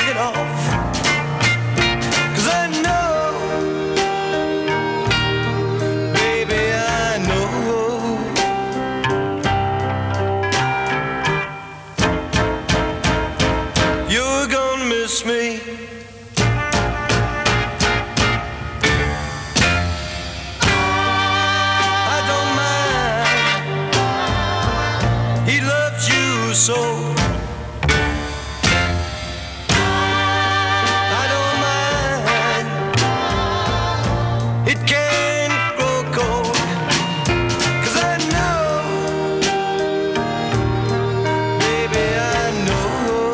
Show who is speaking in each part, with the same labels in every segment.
Speaker 1: shake it off. 'Cause I know, baby, I know you're gonna miss me. I don't mind, he loves you so. I don't mind, it can grow cold. 'Cause I know, baby, I know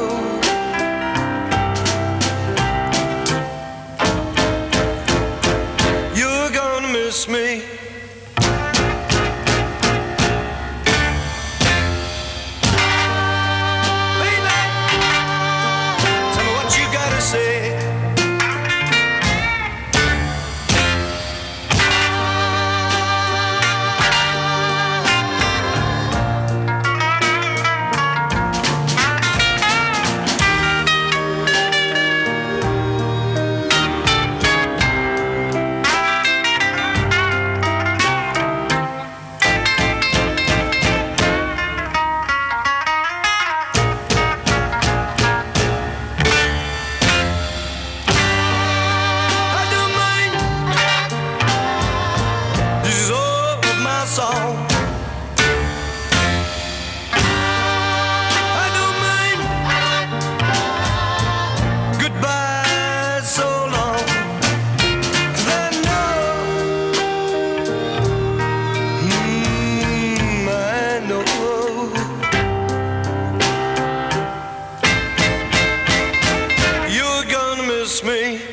Speaker 1: you're gonna miss me. Baby, tell me what you gotta say. I don't mind, this is all of my song. I don't mind, goodbye so long. 'Cause I know, I know you're gonna miss me.